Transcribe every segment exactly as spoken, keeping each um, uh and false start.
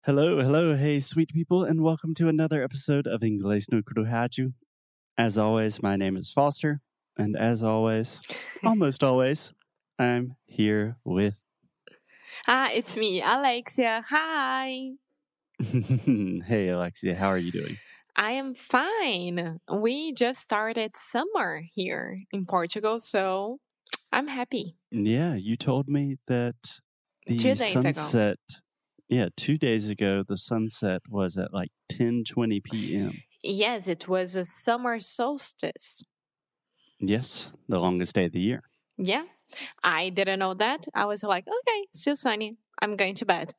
Hello, hello, hey, sweet people, and welcome to another episode of Inglês no Cruhaju. As always, my name is Foster, and as always, almost always, I'm here with. Ah, it's me, Alexia. Hi. Hey, Alexia, how are you doing? I am fine. We just started summer here in Portugal, so I'm happy. Yeah, you told me that the Two days ago. sunset. Yeah, two days ago, the sunset was at like ten twenty p.m. Yes, it was a summer solstice. Yes, the longest day of the year. Yeah, I didn't know that. I was like, okay, still sunny. I'm going to bed.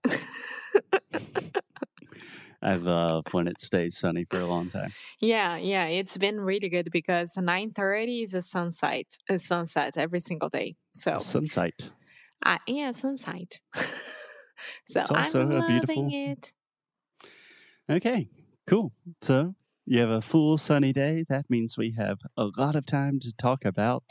I love when it stays sunny for a long time. Yeah, yeah, it's been really good because nine thirty is a sunset, a sunset every single day. So Sunset. uh, yeah, sunset. So It's also I'm a loving beautiful. it. Okay, cool. So you have a full sunny day. That means we have a lot of time to talk about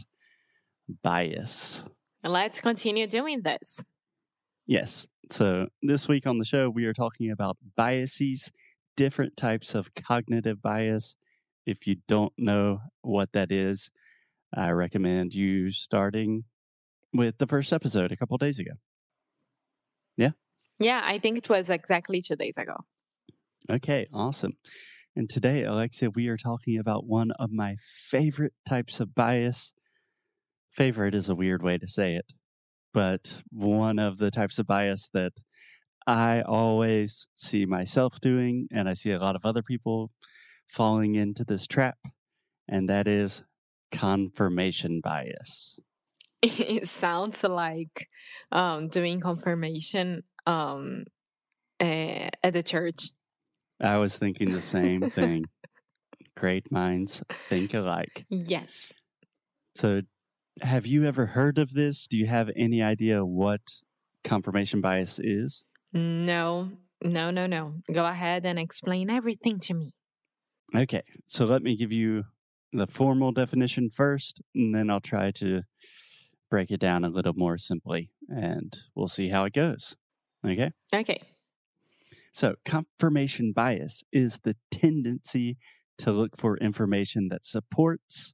bias. Let's continue doing this. Yes. So this week on the show, we are talking about biases, different types of cognitive bias. If you don't know what that is, I recommend you starting with the first episode a couple days ago. Yeah? Yeah, I think it was exactly two days ago. Okay, awesome. And today, Alexia, we are talking about one of my favorite types of bias. Favorite is a weird way to say it, but one of the types of bias that I always see myself doing, and I see a lot of other people falling into this trap, and that is confirmation bias. It sounds like um, doing confirmation um, uh, at the church. I was thinking the same thing. Great minds think alike. Yes. So, have you ever heard of this? Do you have any idea what confirmation bias is? No, no, no, no. Go ahead and explain everything to me. Okay, so let me give you the formal definition first, and then I'll try to break it down a little more simply, and we'll see how it goes. Okay? Okay. So, confirmation bias is the tendency to look for information that supports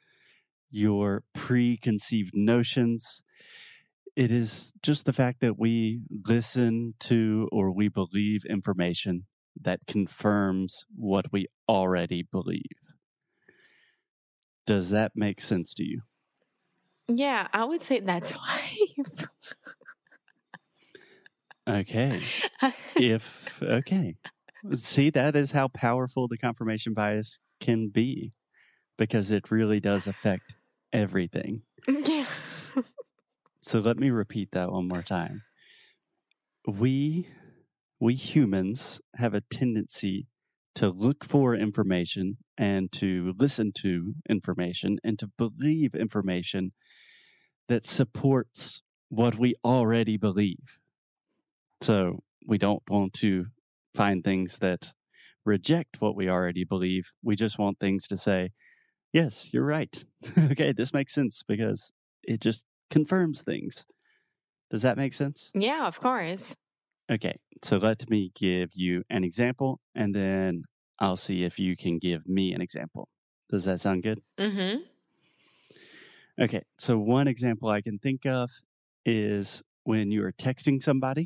your preconceived notions. It is just the fact that we listen to or we believe information that confirms what we already believe. Does that make sense to you? Yeah, I would say that's life. Okay. If, okay. See, that is how powerful the confirmation bias can be because it really does affect everything. Yeah. So let me repeat that one more time. We, we humans have a tendency to look for information and to listen to information and to believe information that supports what we already believe. So we don't want to find things that reject what we already believe. We just want things to say, yes, you're right. Okay, this makes sense because it just confirms things. Does that make sense? Yeah, of course. Okay, so let me give you an example and then I'll see if you can give me an example. Does that sound good? Mm-hmm. Okay, so one example I can think of is when you are texting somebody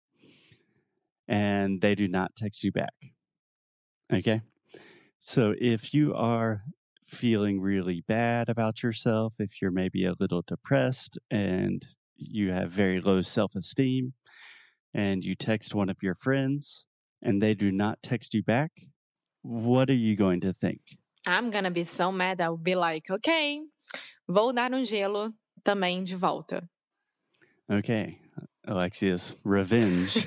and they do not text you back. Okay, so if you are feeling really bad about yourself, if you're maybe a little depressed and you have very low self esteem, and you text one of your friends and they do not text you back, what are you going to think? I'm gonna be so mad. I'll be like, okay, vou dar um gelo também de volta. Okay, Alexia's revenge.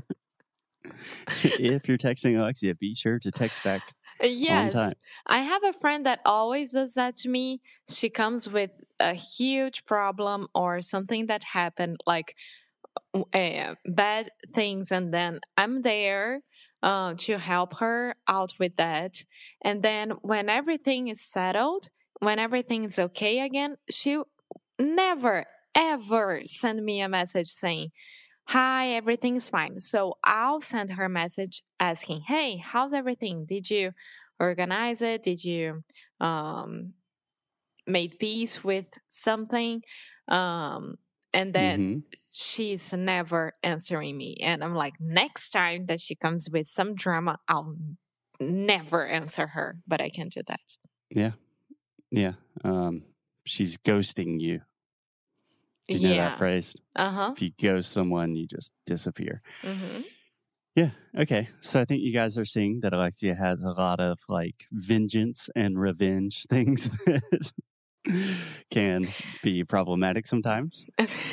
If you're texting Alexia, be sure to text back on Yes, time. I have a friend that always does that to me. She comes with a huge problem or something that happened, like uh, bad things, and then I'm there uh, to help her out with that. And then when everything is settled, when everything is okay again, she never ever send me a message saying, hi, everything's fine. So I'll send her a message asking, hey, how's everything? Did you organize it? Did you um, made peace with something? Um, and then Mm-hmm. she's never answering me. And I'm like, next time that she comes with some drama, I'll never answer her. But I can't do that. Yeah. Yeah. Um, she's ghosting you. Do you know that Yeah. phrase? Uh huh. If you ghost someone, you just disappear. Mm-hmm. Yeah. Okay. So I think you guys are seeing that Alexia has a lot of like vengeance and revenge things that can be problematic sometimes.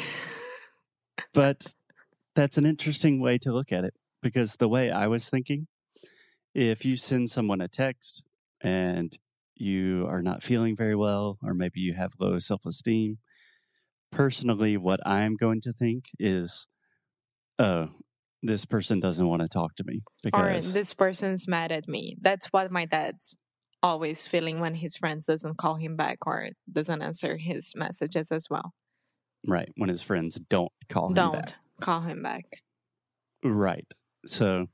But that's an interesting way to look at it, because the way I was thinking, if you send someone a text and you are not feeling very well, or maybe you have low self esteem, personally, what I'm going to think is, oh, this person doesn't want to talk to me Or because, this person's mad at me. That's what my dad's always feeling when his friends doesn't call him back or doesn't answer his messages as well. right, when his friends don't call him Don't back. call him back. Right. So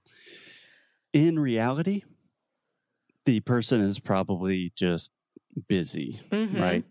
in reality, the person is probably just busy, Mm-hmm. right?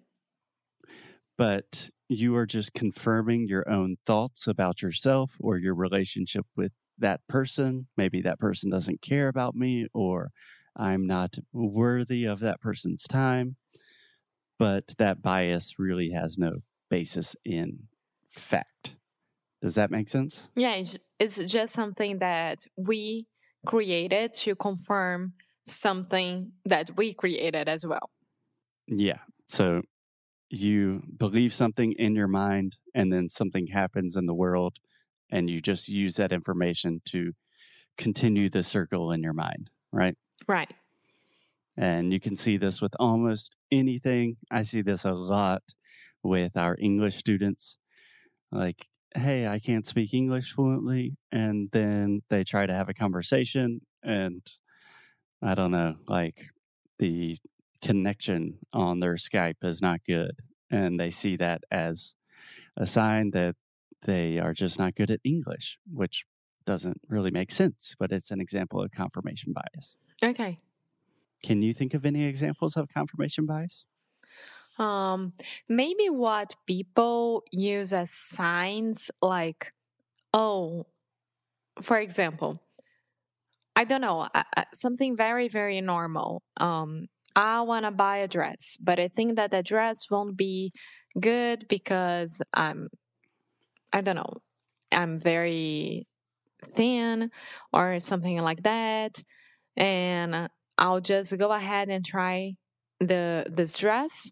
But you are just confirming your own thoughts about yourself or your relationship with that person. Maybe that person doesn't care about me, or I'm not worthy of that person's time. But that bias really has no basis in fact. Does that make sense? Yeah, it's, it's just something that we created to confirm something that we created as well. Yeah. So you believe something in your mind, and then something happens in the world, and you just use that information to continue the circle in your mind, right? Right. And you can see this with almost anything. I see this a lot with our English students. Like, hey, I can't speak English fluently. And then they try to have a conversation, and I don't know, like the connection on their Skype is not good. And they see that as a sign that they are just not good at English, which doesn't really make sense, but it's an example of confirmation bias. Okay. Can you think of any examples of confirmation bias? Um, maybe what people use as signs, like, oh, for example, I don't know, uh, uh, something very, very normal. Um, I want to buy a dress, but I think that the dress won't be good because I'm, I don't know, I'm very thin or something like that. And I'll just go ahead and try the this dress.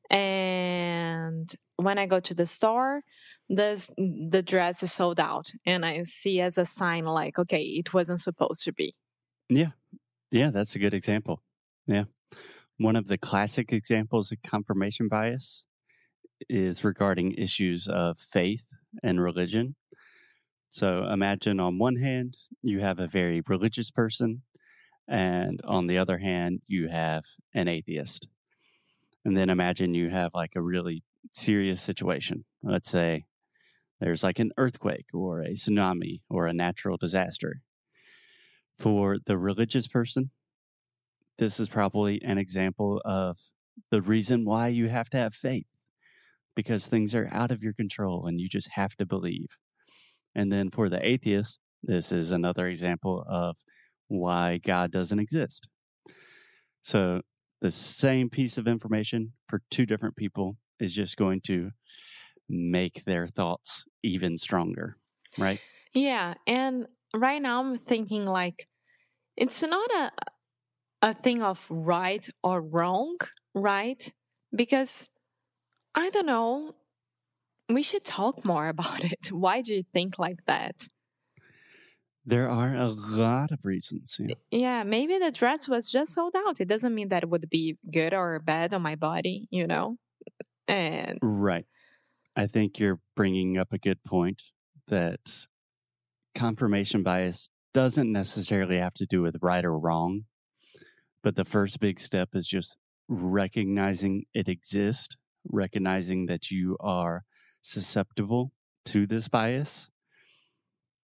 And when I go to the store, this the dress is sold out, and I see as a sign like, okay, it wasn't supposed to be. Yeah. Yeah, that's a good example. Yeah. One of the classic examples of confirmation bias is regarding issues of faith and religion. So imagine on one hand, you have a very religious person, and on the other hand, you have an atheist. And then imagine you have like a really serious situation. Let's say there's like an earthquake or a tsunami or a natural disaster. For the religious person, this is probably an example of the reason why you have to have faith, because things are out of your control and you just have to believe. And then for the atheist, this is another example of why God doesn't exist. So the same piece of information for two different people is just going to make their thoughts even stronger, right? Yeah, and right now I'm thinking like it's not a a thing of right or wrong, right? Because I don't know, we should talk more about it. Why do you think like that? There are a lot of reasons. Yeah. Yeah, maybe the dress was just sold out. It doesn't mean that it would be good or bad on my body, you know? And Right. I think you're bringing up a good point that confirmation bias doesn't necessarily have to do with right or wrong, but the first big step is just recognizing it exists, recognizing that you are susceptible to this bias.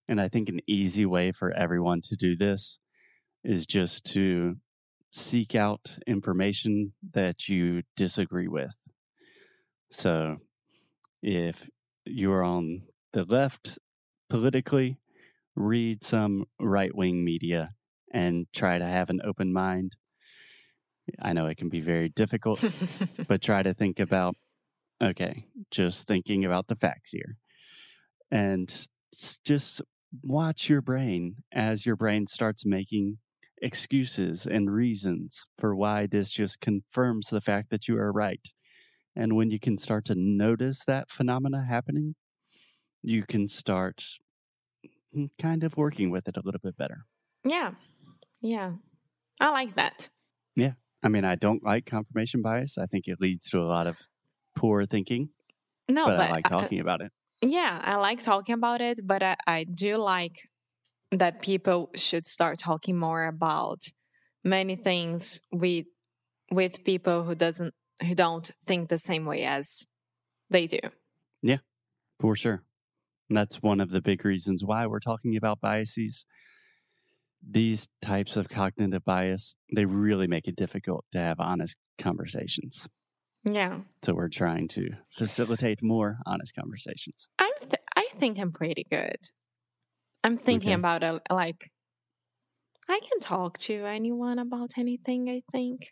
And I think an easy way for everyone to do this is just to seek out information that you disagree with. So if you're on the left politically, read some right-wing media and try to have an open mind. I know it can be very difficult, but try to think about, okay, just thinking about the facts here. And just watch your brain as your brain starts making excuses and reasons for why this just confirms the fact that you are right. And when you can start to notice that phenomena happening, you can start kind of working with it a little bit better. Yeah. Yeah. I like that. Yeah. I mean, I don't like confirmation bias. I think it leads to a lot of poor thinking. No, but, but I like talking uh, about it. Yeah, I like talking about it, but I, I do like that people should start talking more about many things with with people who doesn't who don't think the same way as they do. Yeah, for sure. And that's one of the big reasons why we're talking about biases. These types of cognitive bias, they really make it difficult to have honest conversations. Yeah. So we're trying to facilitate more honest conversations. I'm th- I think I'm pretty good. I'm thinking Okay. about it like I can talk to anyone about anything, I think.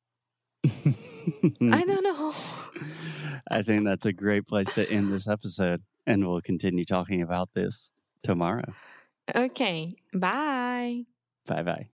I don't know. I think that's a great place to end this episode, and we'll continue talking about this tomorrow. Okay. Bye. Bye-bye.